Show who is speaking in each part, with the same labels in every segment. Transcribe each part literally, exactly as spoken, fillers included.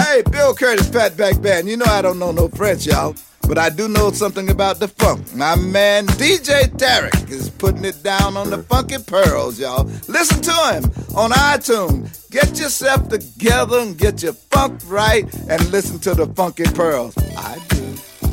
Speaker 1: Hey, Bill Curtis, Fatback Band. You know I don't know no French, y'all. But I do know something about the funk. My man D J Tarek is putting it down on the Funky Pearls, y'all. Listen to him on iTunes. Get yourself together and get your funk right and listen to the Funky Pearls. I do.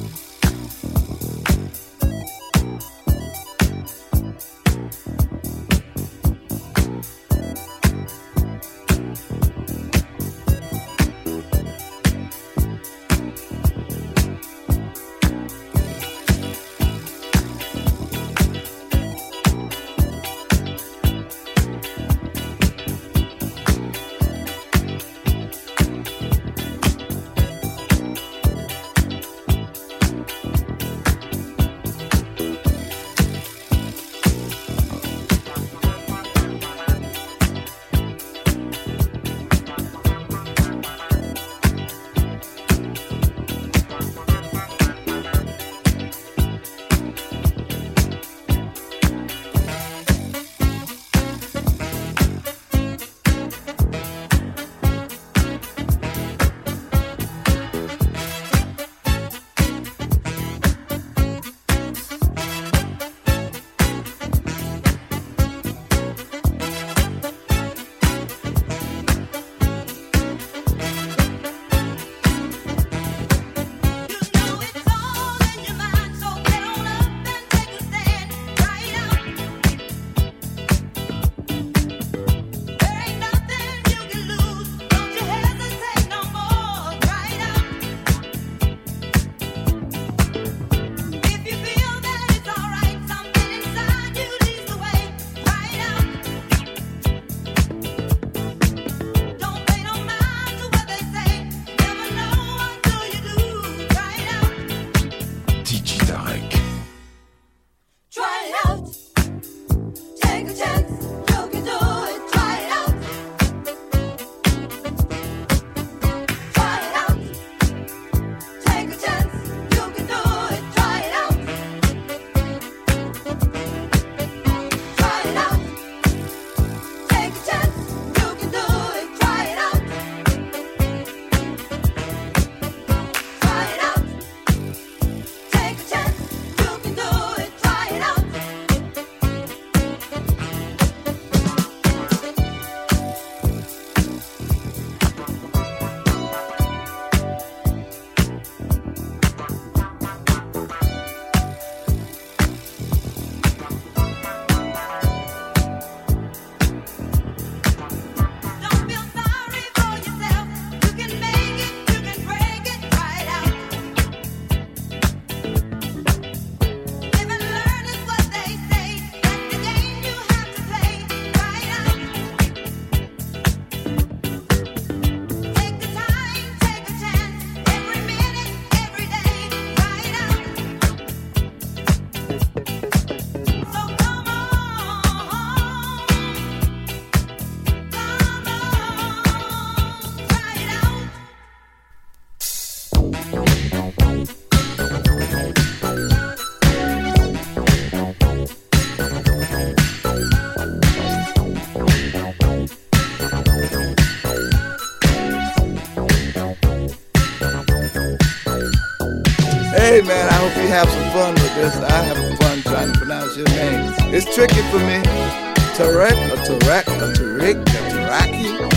Speaker 1: Hey man, I hope you have some fun with this. I have fun trying to pronounce your name. It's tricky for me. Tarek, or Tarek, or Tariq, or Taraki, or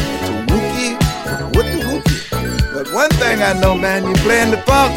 Speaker 1: Tawuki, what the Wookie. But one thing I know, man, you playing the funk.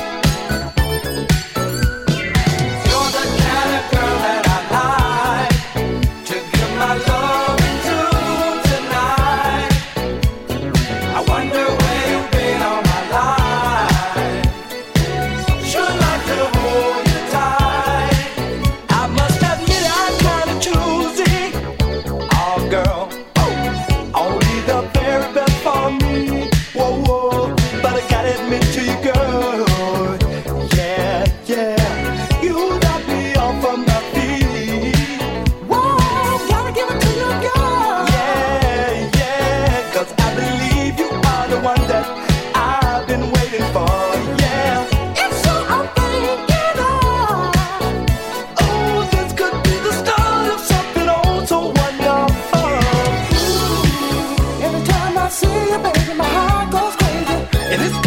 Speaker 2: You're the kind of girl that I like to give my love to tonight. I wonder where you've been all my life. Sure like to hold you tight. I must admit I'm kind of choosy. Oh girl, oh, only the very best for me. Whoa, whoa, but I gotta admit to you, girl. Yeah, yeah, you got me off of my feet. Whoa, gotta give it to you, girl. Yeah, yeah, 'cause I believe you are the one that I've been waiting for. Yeah, it's so I'm thinking of. Oh, this could be the start of something oh so wonderful. Ooh, every time I see you, baby, my heart goes crazy. And it's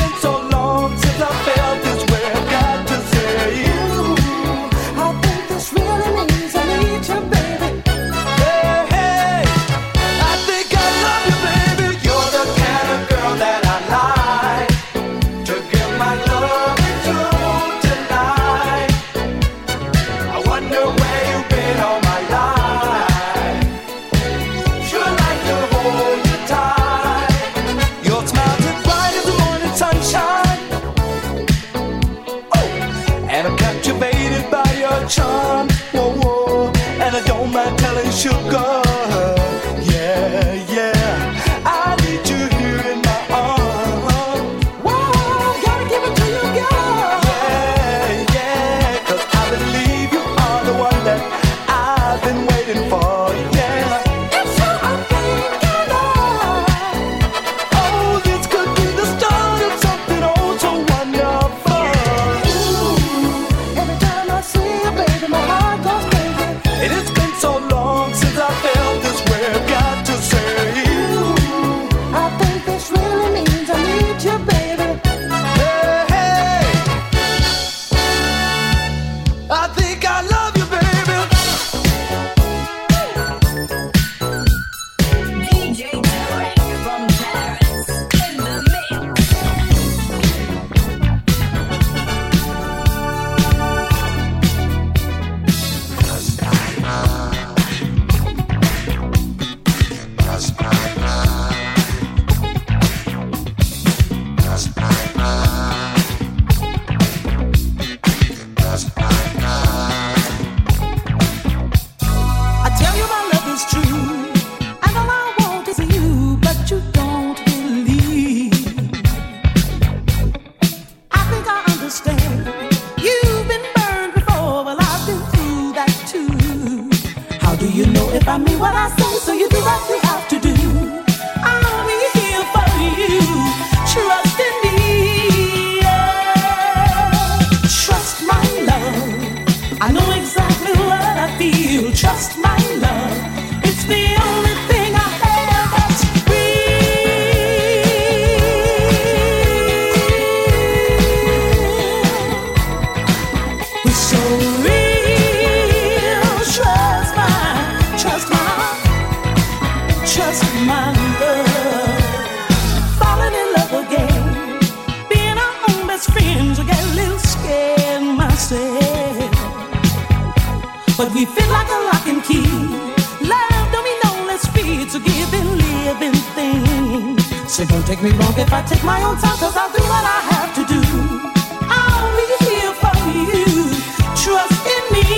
Speaker 3: fit like a lock and key. Love don't mean no less free to give and living thing. So don't take me wrong if I take my own time, cause I'll do what I have to do. I'll be here for you. Trust in me,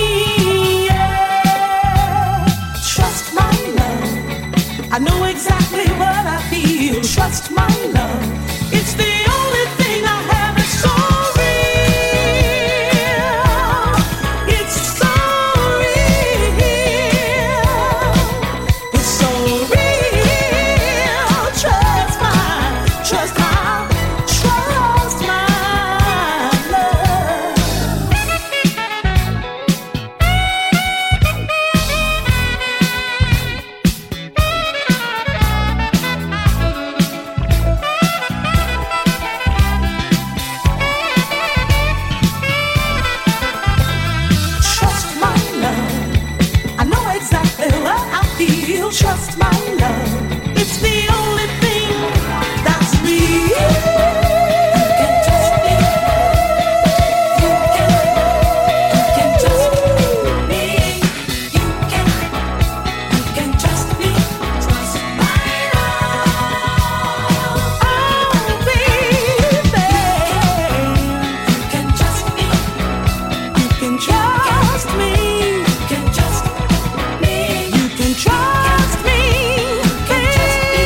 Speaker 3: yeah. Trust my love. I know exactly what I feel. Trust my love. It's the only thing I have. It's so real. It's so real. It's so real. Trust my, trust my, trust my love. Trust my love. I know exactly what I feel. Trust my love. It's the only thing that's real. You can trust me. You can, you can trust me. You can, you can trust me. Trust my love. Oh, baby. You can trust me. You can trust me. You can trust me. You can trust me, baby.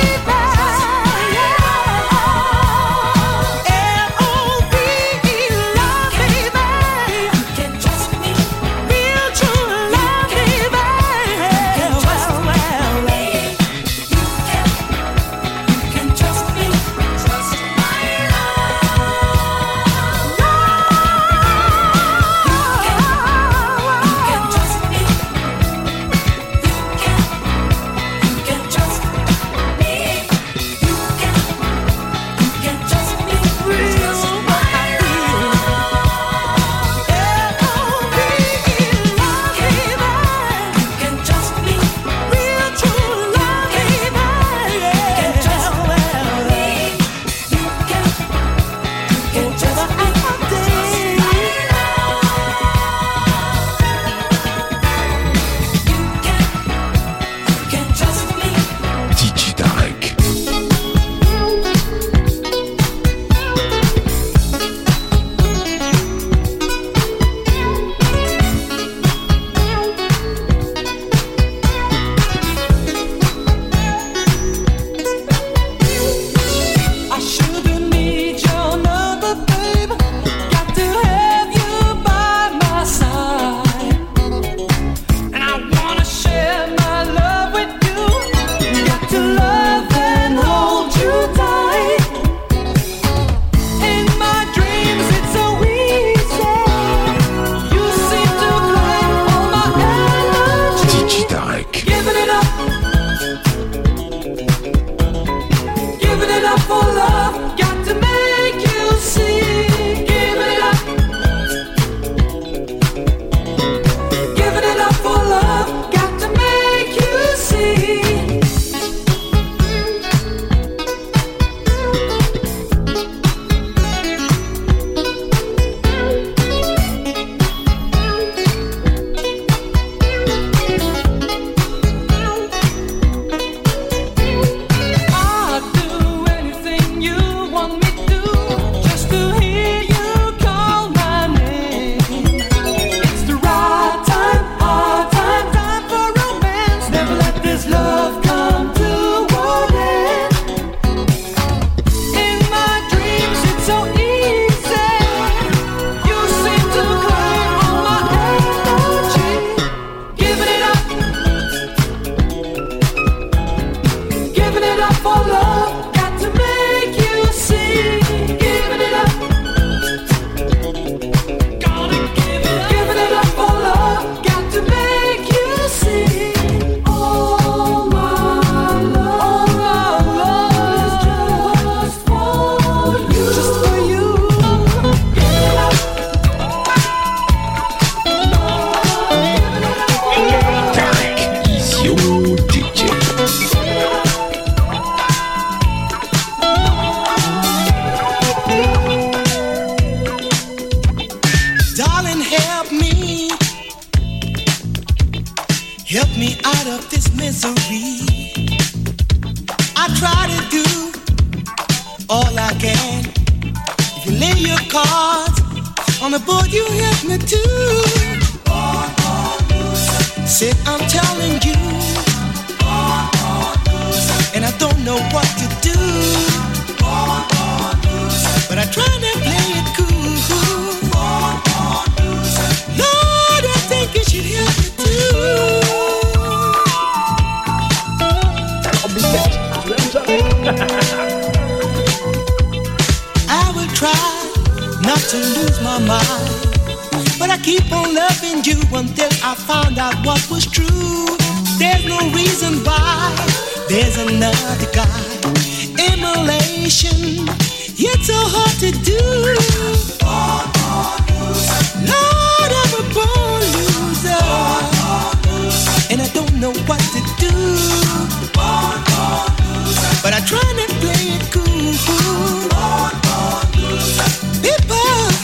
Speaker 3: L O V E, love, baby. You can trust me. Real true love, baby. Well, well, well. You can, you can trust me. Trust my love. You can, you can trust me. You can, you can trust me. You can, you can trust me. Real what I feel. L O V E, love, baby. You can trust me. Real true love, baby. You can trust me. You can, you can trust me. You can, you can trust me.
Speaker 4: D J Tarek.
Speaker 3: I shouldn't need your number, babe. Got to have you by my side, and I wanna share my love with you. Got to love and hold you tight. In my dreams, it's so easy. You seem to claim all my energy.
Speaker 4: D J Tarek.
Speaker 3: Giving it up, giving it up for love. Got to make you see. Giving it up, giving it up for love. Got to make you see. I'll do anything you want me to, just to hear you call my name. It's the right time, our time, time for romance. Never let this love come to an end. In my dreams, it's so easy. You seem to claim all my energy. Giving it up, giving it up for love. Got to make you see.
Speaker 5: out of this misery. I try to do all I can. If you lay your cards on the board, you help me too. Say I'm telling you, and I don't know what to do, but I try to play it cool. Lord, I think you should help me too. I will try not to lose my mind, but I keep on loving you until I found out what was true. There's no reason why there's another guy. Immolation, it's so hard to do. Lord, I'm a born loser, and I don't know what to do, but I try to play it cool. People,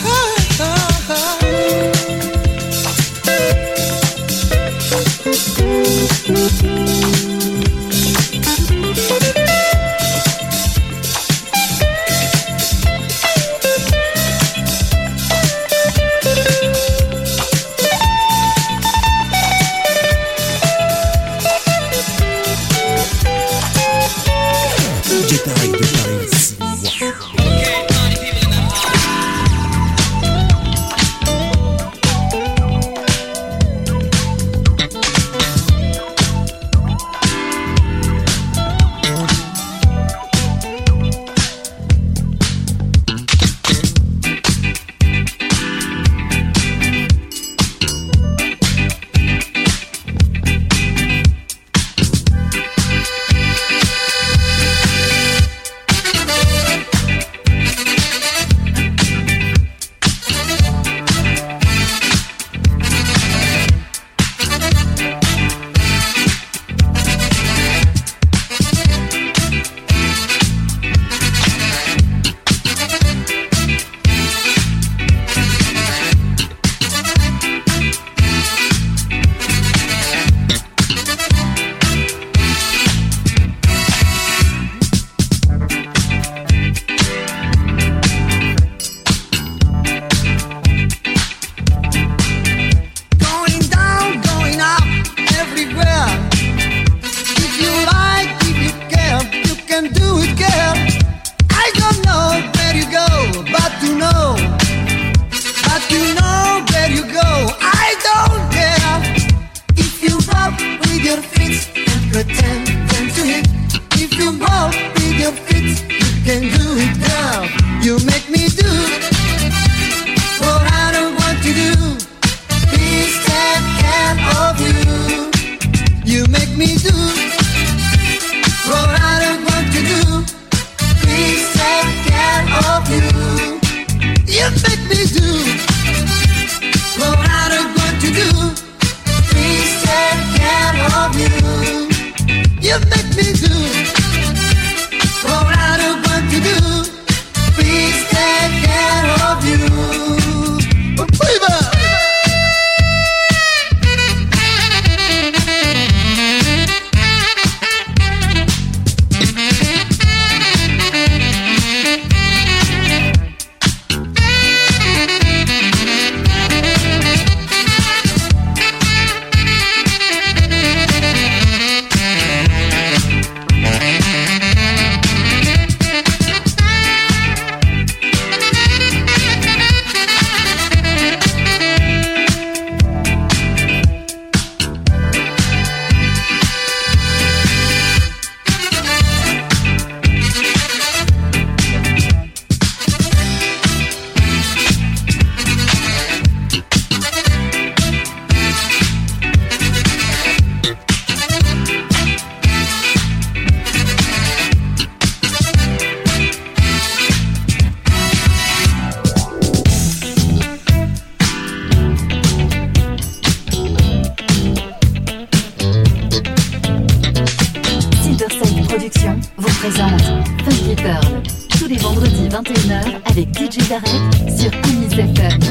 Speaker 6: vingt et une heures avec D J Darek sur Amis F M.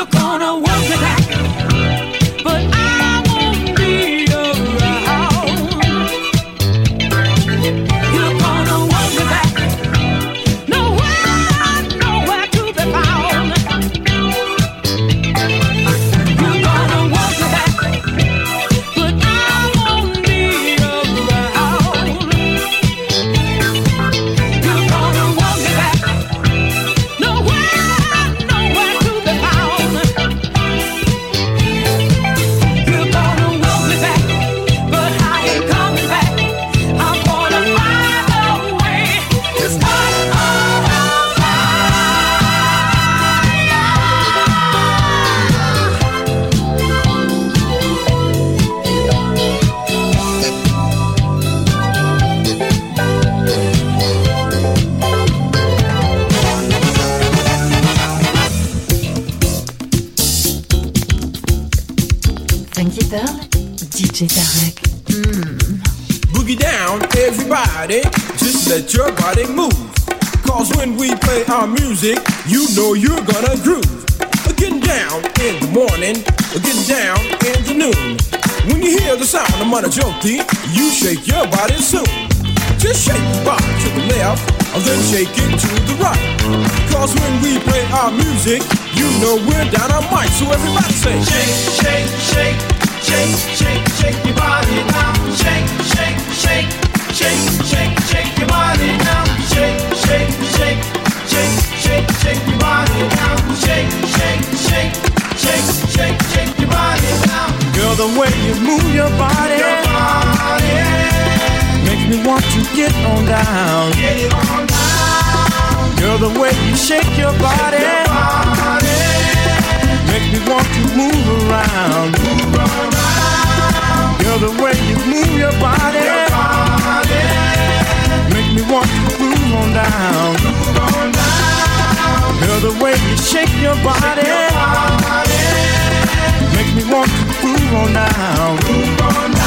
Speaker 3: You're gonna work me back, but I won't be around. You're gonna work me back, nowhere, nowhere to be found. You're gonna work me back, but I won't be around. You're gonna work me back, nowhere, nowhere to be found. You're gonna want me back, but I ain't coming back. I'm gonna find a way to start all over.
Speaker 6: Funky Pearl, D J Tarek.
Speaker 7: Boogie down, everybody, just let your body move. Cause when we play our music, you know you're gonna groove. Getting down in the morning, getting down in the noon. When you hear the sound of Mana Joti, you shake your body soon. Just shake your body to the left, and then shake it to the right. Cause when we play our music, you know we're down on mic. So everybody say,
Speaker 2: Shake, shake, shake, shake, shake, shake your body now. Shake, shake, shake, shake, shake, shake your body now. Shake, shake, shake, shake, shake, shake your body now. Shake, shake, shake, shake, shake, shake your body now.
Speaker 5: Girl, the way you move your body,
Speaker 2: Your body,
Speaker 5: makes me want to get on down.
Speaker 2: get it on down.
Speaker 5: Girl, the way you shake your body,
Speaker 2: Your body,
Speaker 5: makes me want to move around.
Speaker 2: move around.
Speaker 5: Girl, the way you move your body,
Speaker 2: Your body,
Speaker 5: makes me want to groove on down.
Speaker 2: move on down.
Speaker 5: Girl, the way you shake your body,
Speaker 2: Body,
Speaker 5: makes me want to groove on down.
Speaker 2: move on down.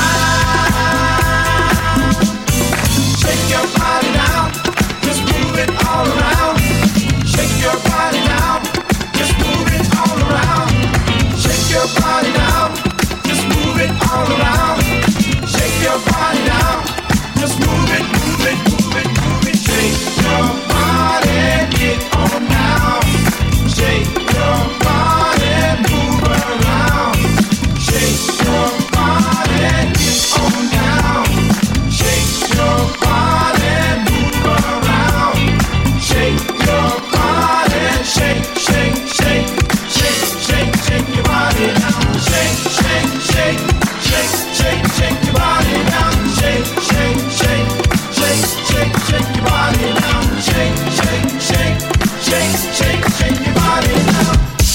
Speaker 2: Shake your body now, just move it all around. Shake your body now, just move it all around. Shake your body now, just move it all around. Shake your body now, just move it, move it, move it, move it. Shake your body, get on now. Shake your body, move around. Shake your body, get on down. Shake your body, move around. Shake your body, shake, shake, shake, shake, shake, shake your body now. Shake, shake, shake, shake, shake, shake your body now. Shake, shake, shake, shake, shake, shake your body now. Shake, shake, shake, shake, shake, shake your body now.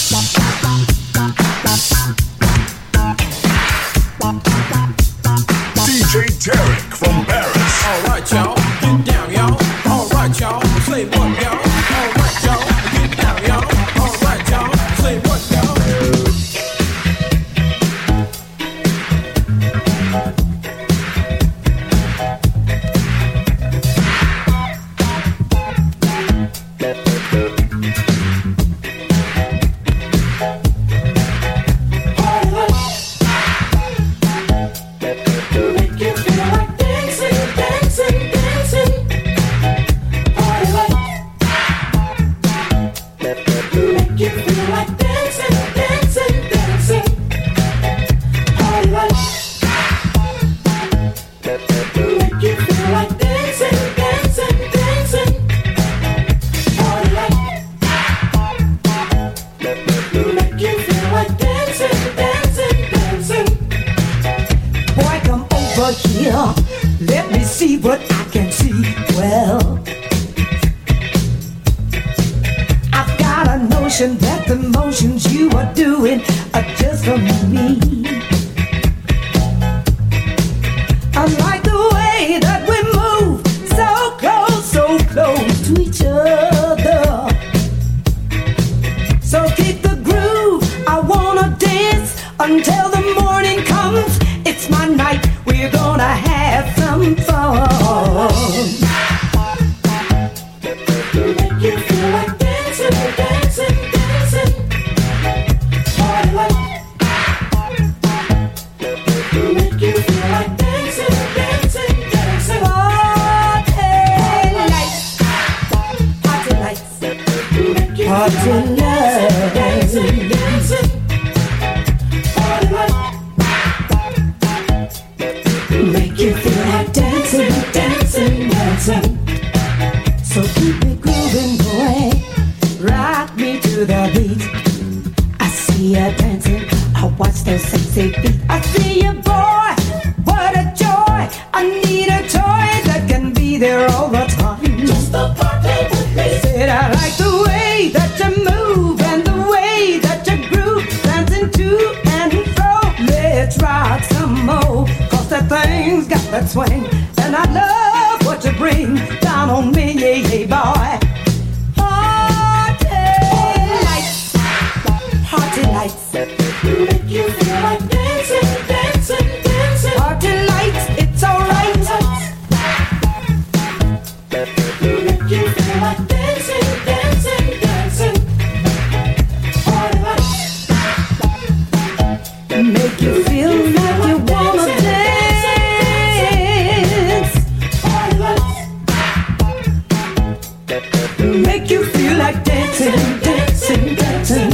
Speaker 4: D J Tarek from Paris.
Speaker 7: alright y'all, get down y'all. Alright y'all, say what y'all. Alright y'all, get down y'all. Alright y'all, say what y'all.
Speaker 3: Make you feel like dancing, dancing, dancing. Party like. Make you feel like dancing, dancing, dancing. Party like. Make you feel like dancing, dancing, dancing. Party like. Make you feel like dancing, dancing, dancing.
Speaker 8: Boy, come over here. Let me see what I can see. Well, I've got a notion that the motions you are doing are just for me. I like the way that we move so close, so close to each other. So keep the groove. I wanna dance until the morning comes. It's my night. We're gonna have some fun.
Speaker 3: Make you feel like dancing, dancing, dancing.
Speaker 8: see you dancing, I watch those sexy feet. I see you, boy, what a joy. I need a toy that can be there all the time. Just a party with me. Said I like the way that you move and the way that you groove, dancing to and fro. Let's rock some more, cause that thing's got that swing, and I love what you bring down on me, yeah, yeah, boy. Party lights, make you feel like dancing, dancing, dancing. Party lights, it's alright. Make you feel like dancing, dancing, dancing. Party lights, make you feel like you wanna dance. Party lights, make you feel like dancing, dancing, dancing.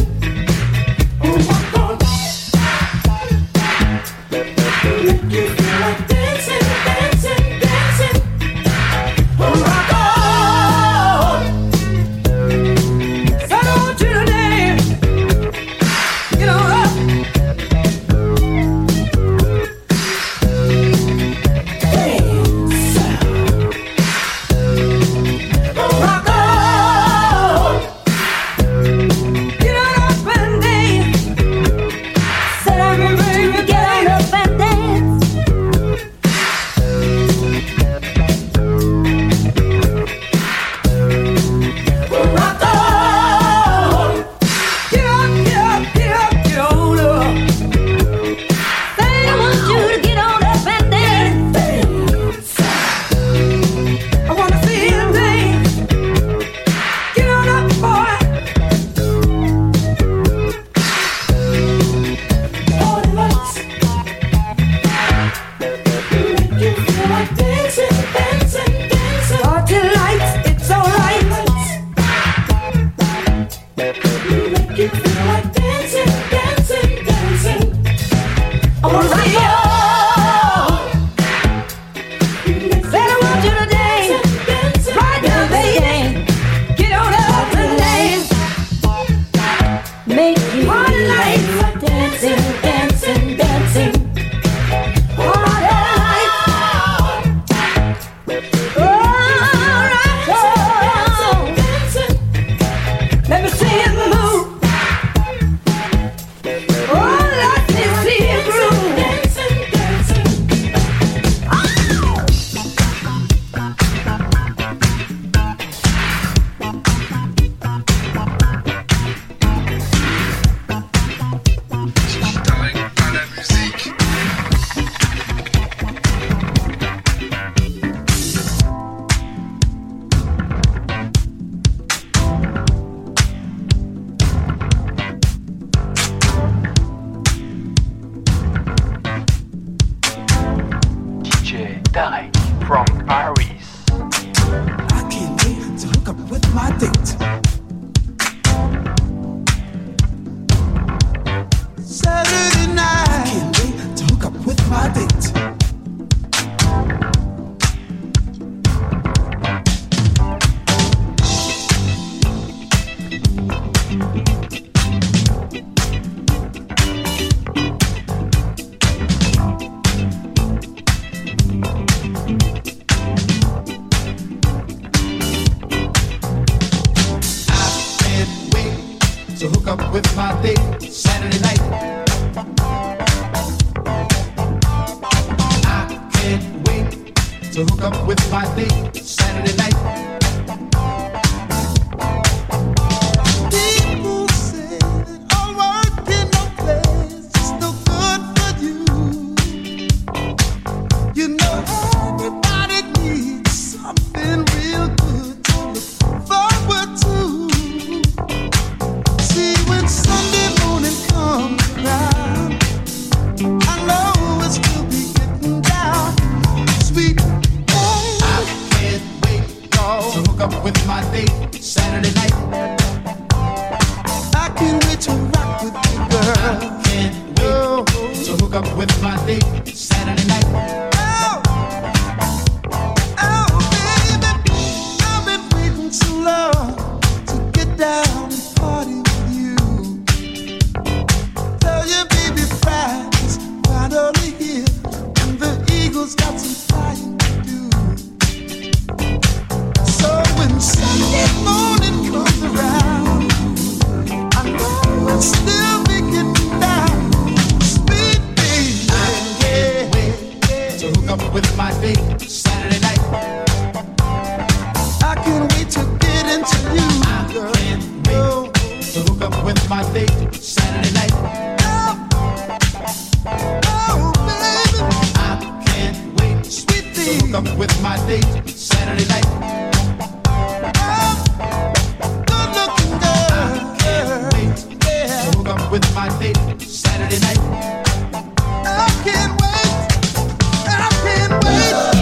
Speaker 9: Saturday night. Oh, oh, baby, I can't wait. Sweet thing, to hook up with my date. Saturday night. Oh, good looking girl. I can't wait. Yeah. To hook up with my date. Saturday night. I can't wait. I can't wait.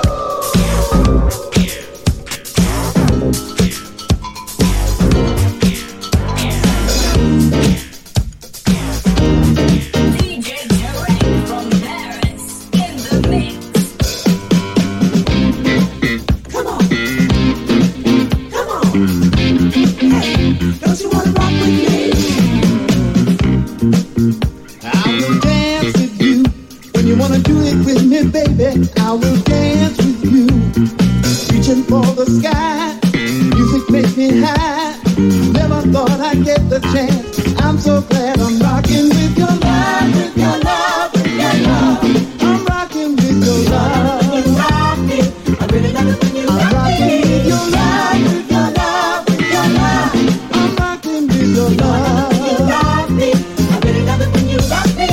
Speaker 5: Baby, I will dance with you, reaching for the sky. Music makes me high. Never thought I'd get the chance. I'm so glad I'm rocking with your love, with your love, with your love. I'm rocking with your love. I really love it when you rock me. I'm rocking with your love, with your love, with your love. I'm rocking with your love. I really love it when you rock me.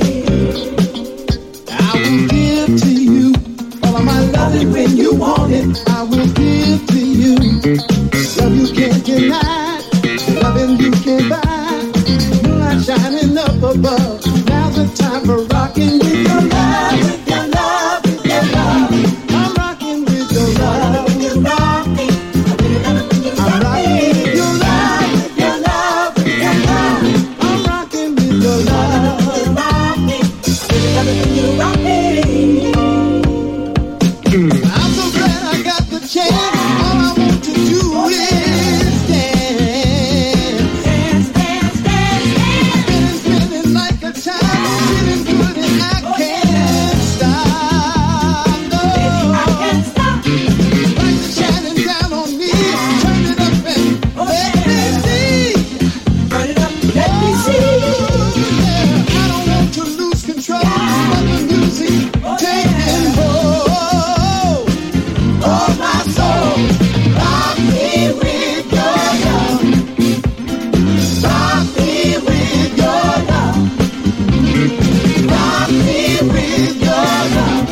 Speaker 5: When you want it, I will give to you. Love you can't deny, loving you can't buy. Moonlight shining up above. Now's the time for rocking with your love, with your love, with your love. I'm rocking with your love. When you rock me, I really love it when you rock me. I'm rocking with your love, with your love, with your love. I'm rocking with your love. When you rock me, I really love it when you rock me. I'm so glad I got the chance. All I want to do is dance. Dance, dance, dance, dance. Spinning, spinning like a child. Feeling good and I can't stop. No. Baby, I can't stop. Lights are shining down on me. Turn it up and oh, let yeah. me see. Turn it up, let oh, me see. Yeah. I don't want to lose control of the music. Oh, taking yeah. hold. Oh, my soul, rock me with your love. Rock me with your love. Rock me with your love.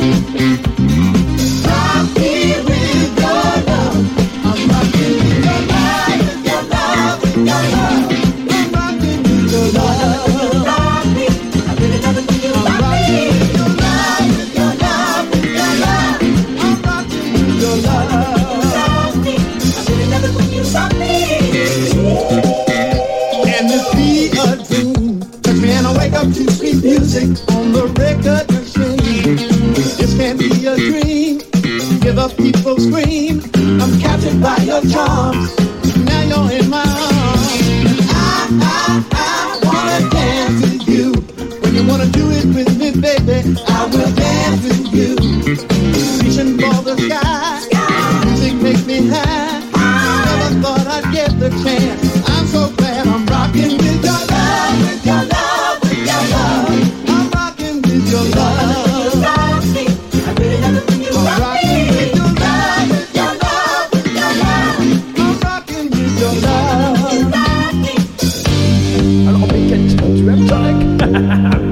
Speaker 5: Rock me with your love. I'm rocking with your love, with your love, with your love. I'm rocking with your love. Rock me, I really love it when you rock me. With your love, with your love, with your love. I'm rocking with your love. Can this be a dream? Cause man, I wake up to sweet music on the record machine. This can't be a dream. Hear the people scream. I'm captured by your charms. Now you're in my arms. I, I, I wanna dance with you. When you wanna do it with me, baby, I will dance with you. Reaching for the sky. Music makes me high. Never thought I'd get the chance. I'm so glad I'm rocking with your love, with your love, with your love. I'm rocking with your love. You rock me. I really love it when you I'm rock me. With your love, with your love, with your love. I'm rocking with your love. You rock me.
Speaker 10: Alors, mais quel tu aimes, Tarek?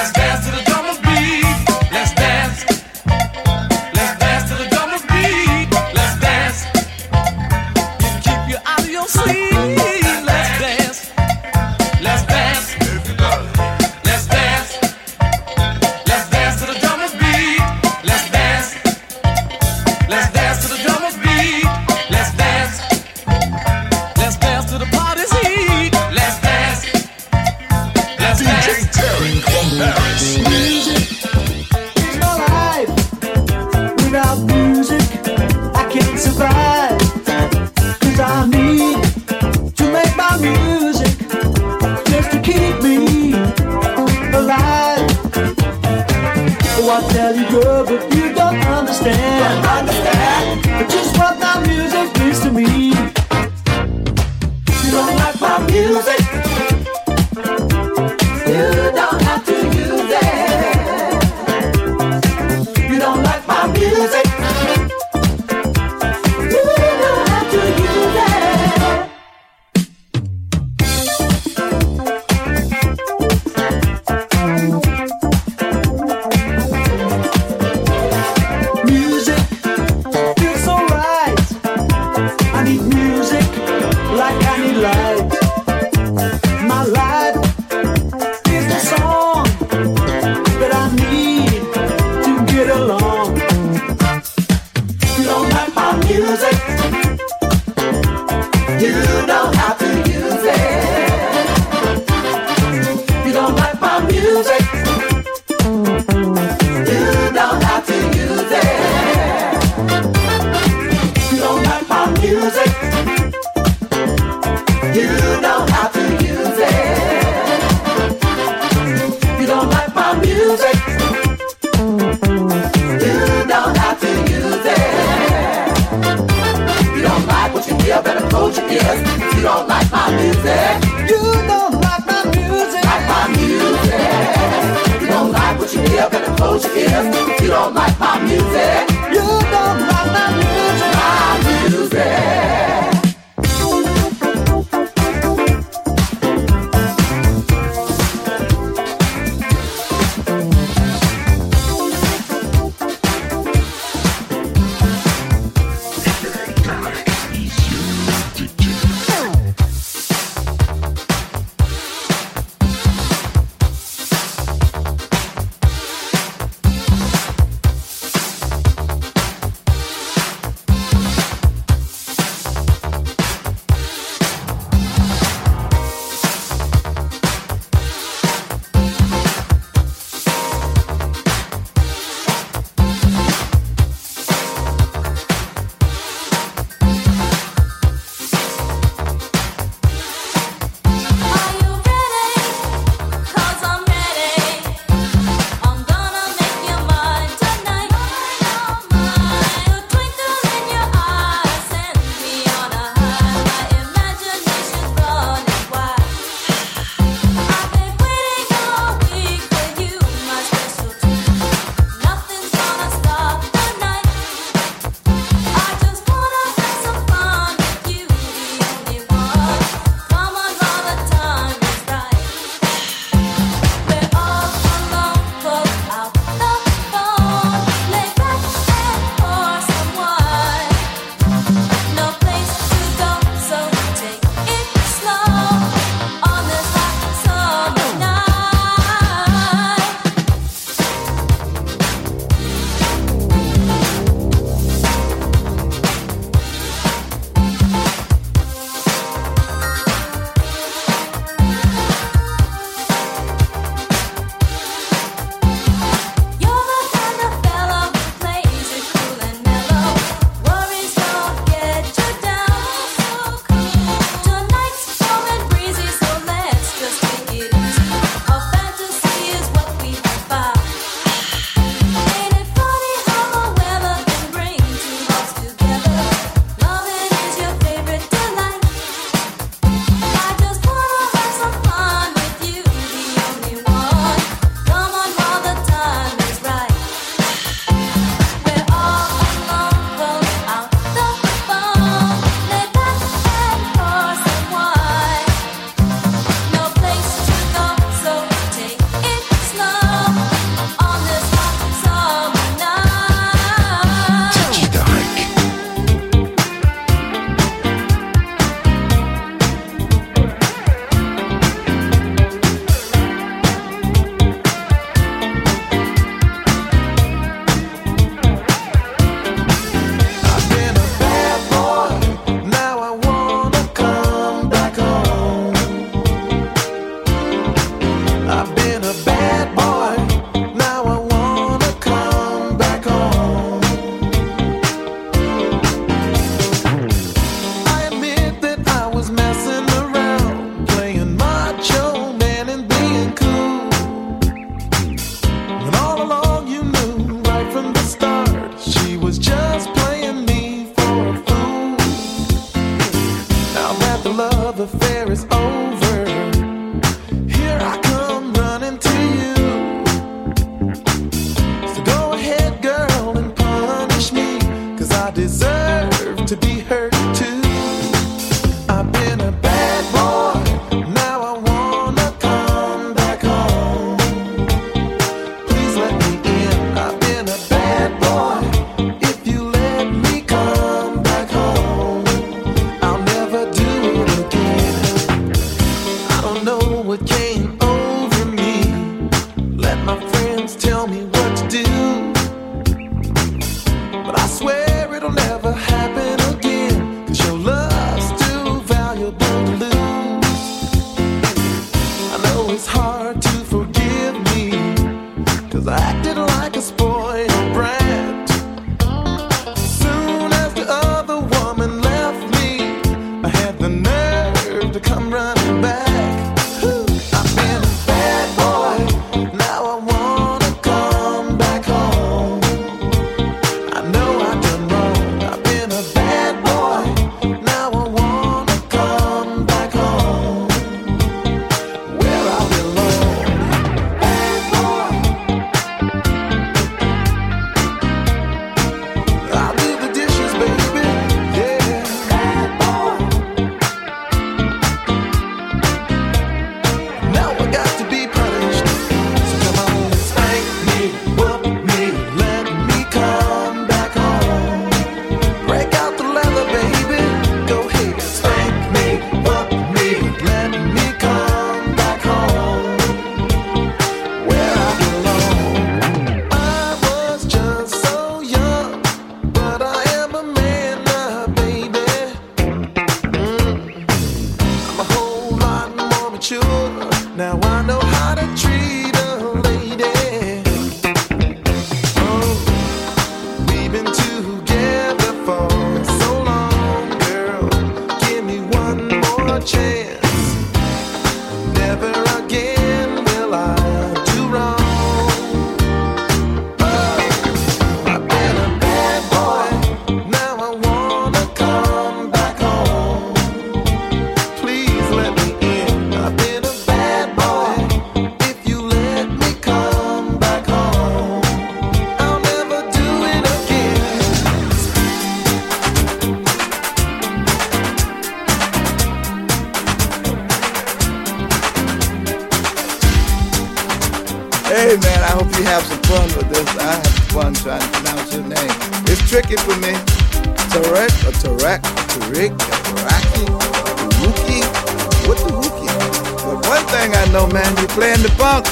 Speaker 3: Beat.
Speaker 2: You don't like my music, you don't have to use it. You don't like my music, you don't have to use it. You don't like my music, you don't have to use it. You don't like my music, you don't have to use it. You don't like what you hear, better close your ears. You don't like my music, you don't like my music, like my music. You don't like what you hear, better close your ears. You don't like my music, you don't like my music, my music.
Speaker 11: tell me what to do, but I swear it'll
Speaker 1: have some fun with this. I have fun trying to pronounce your name. It's tricky for me. Tarek or Tarek, Tariq, Taraki, Taruki. What the hookie? But one thing I know, man, you're playing the funk.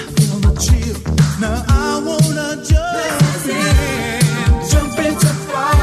Speaker 9: Now I wanna jump in, jump into fire.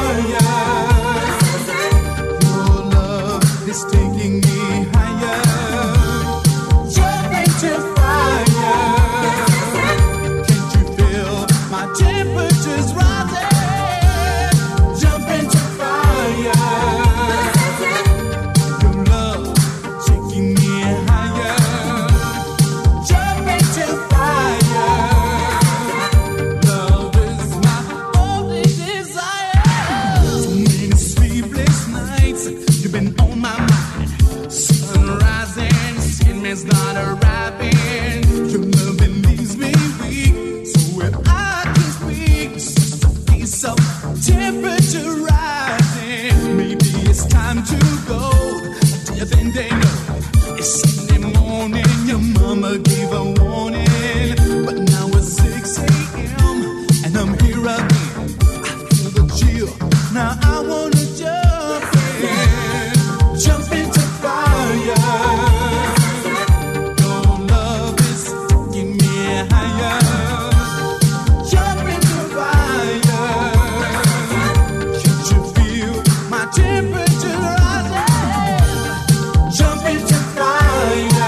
Speaker 9: is not arriving. Your loving leaves me weak. So if I can speak, just a piece of temperature rising. Maybe it's time to go. Do you think they know? It's Sunday morning. Your mama gave a warning, but now it's six a.m. and I'm here again. I feel the chill. Now I wanna jump in, jump into fire. Your love is taking me higher. Jump into fire. Can't you feel my temperature rising? Jump into fire.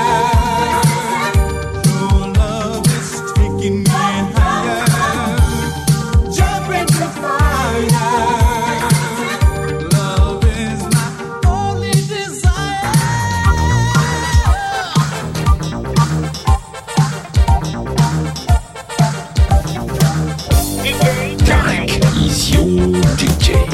Speaker 9: Your love is taking me higher. Jump into fire. Love is my only desire.
Speaker 11: Tarek is your D J.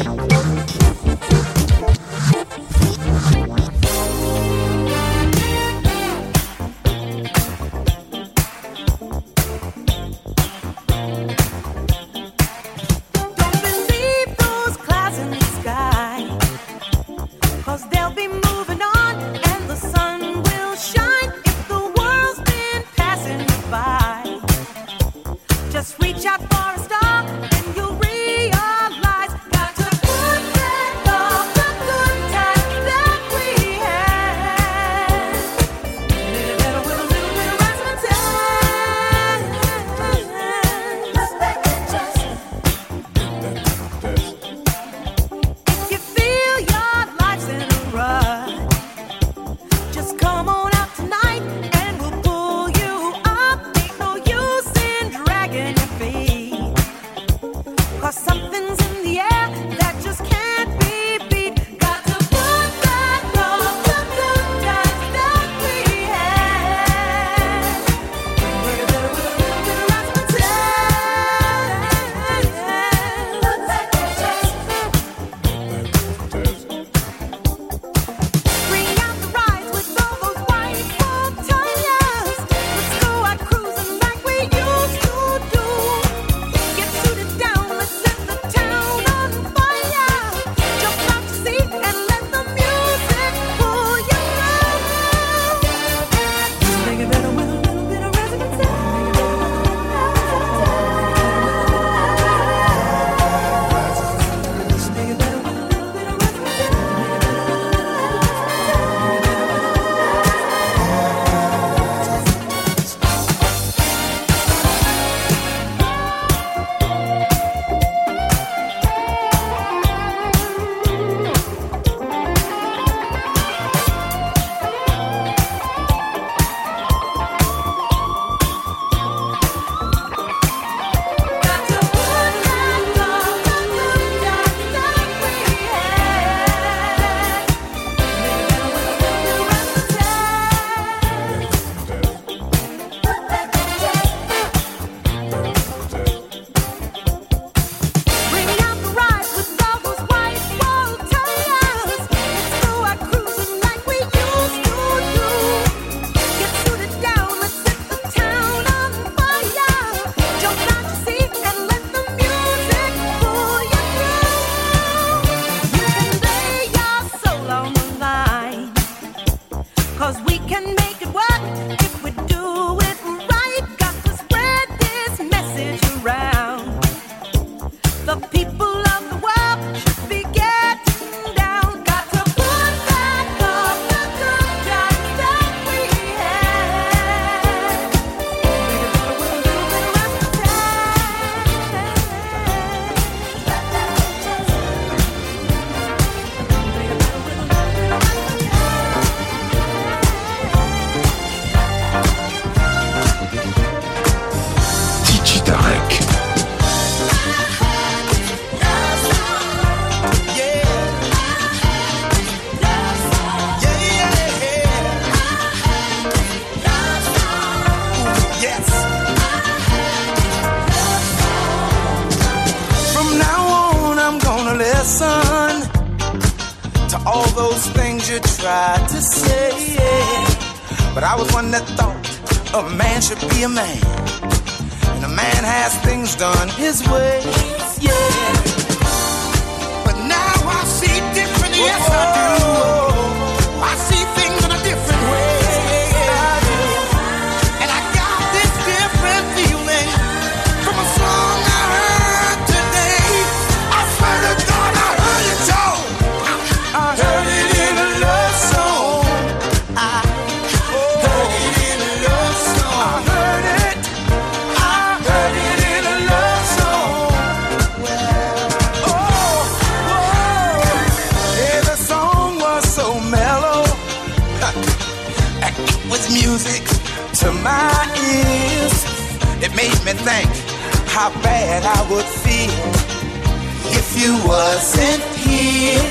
Speaker 3: Don't believe those clouds in the sky, 'cause they'll be moving on and the sun will shine if the world's been passing you by. Just reach out for a star and you'll realize, got to put back all the good times that we had. Little better with a little bit of rising and time. Look back and just if you feel your life's in a rut, just come on out tonight and we'll pull you up. Ain't no use in dragging your feet, 'cause something's in the air that just can't be beat. Got to put back all the good times that we had. We're better with a little bit of rising and time. Look back and just bring out the rides with all those white wall tires. Let's go out cruising like we used to do. Get suited down, let's set the town on fire. Jump out your seat and let the music pull you through. Make it better with a little bit of resonance. Make it better with a little bit of got to put back all the good times that we had. Make it better with a little bit of resonance. Look back and just bring out the rides with all those white wall tires. Let's go out cruising like we used to do. Get suited down, let's set the town on fire. Jump out your seat and let the music pull you through. You can lay your soul on the line, 'cause we can make it work if we do it right. Got to spread this message around. The people of the world should be getting down. Got to put back all the good times that we had. Make it better with a little bit of
Speaker 11: D J Tarek.
Speaker 9: From now on, I'm gonna listen to all those things you tried to say. But I was one that thought a man should be a man, and a man has things done his way, yeah. But now I see different, yes I do. I see things in a different way, and I got this different feeling from a song I heard today. I swear to God I heard it, Joe. I heard it in a love song. I heard it in a love song. I heard it. I heard it in a love song. Oh, whoa. Yeah, the song was so mellow. It was music to my ears. It made me think how bad I would feel if you wasn't here.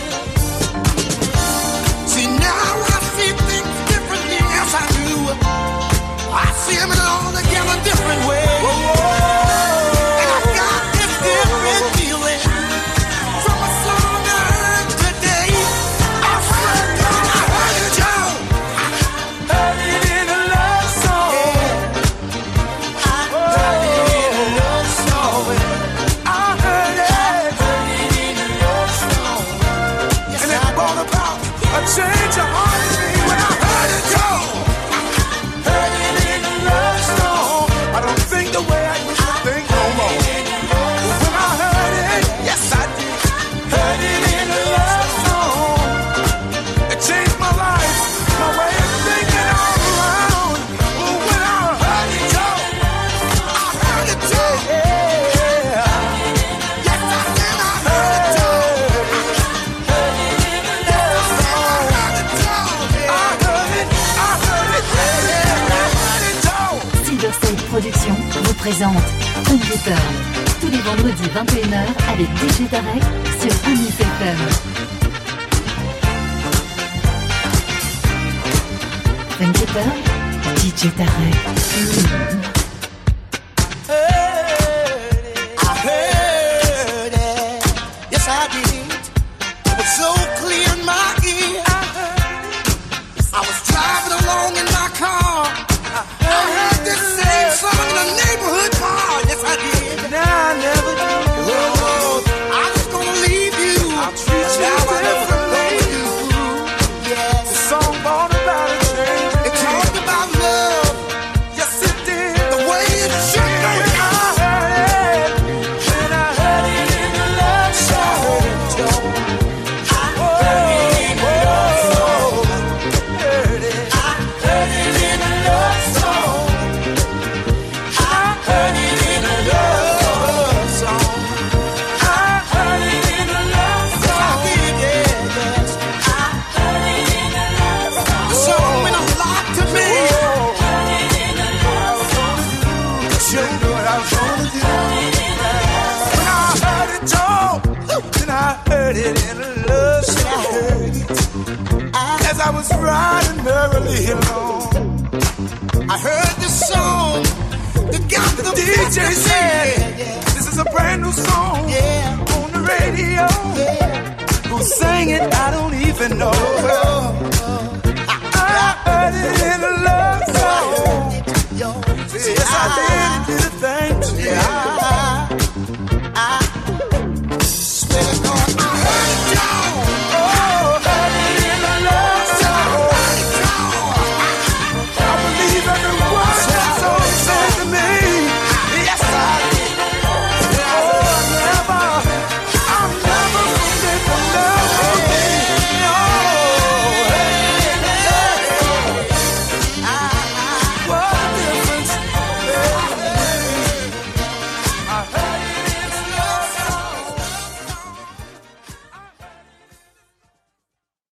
Speaker 9: See, now I see things differently, yes I do. I see them in an altogether different way. And I got this different feeling from a song I heard today. I swear to God I heard it, Joe. I heard it in a love song. I heard it in a love song. I heard it, heard it in a love song. Yes, and it brought about a change of heart in me when I heard it, Joe. Heard it in a love song. I don't think the way I used to think no more. But when I heard it, yes I did. Heard it in a love song. It changed my life, my way of thinking all around. But when I heard it, Joe, I heard it, Joe. Yeah. Yes I did, I heard it, Joe. Heard it in a love song. I heard it, Joe. I heard it, I heard it, yeah. I heard it, Joe.
Speaker 6: Silverside Productions vous présente Funketurn tous les vendredis vingt et une heures avec D J Tarek sur Amis F M. Funketurn, D J Tarek. Mmh.
Speaker 9: I heard it, yes I did. It was so clear in my ear. I was driving along in my car. I heard this same song in a neighborhood bar. Yes I did. Now I never do. Oh, I'm just gonna leave you. I'll treat you now I never you. Yes. The song brought about a change. It talked about love. Yes it did. The way it should go. I heard it. When I heard it in the love song. I heard it in the love song. Heard it. I heard it in the love song. I heard it in a love song. I heard it in a love song. I did, yeah, yes. I heard it in a love song. The song meant a lot to me. Heard it in a love song. You know what I was gonna do. When I heard it, Joe, then I heard it in a love song. As I was riding merrily along, I heard this song. The got the D J said, this is a brand new song, yeah, on the radio. Yeah. Who sang it? I don't even know.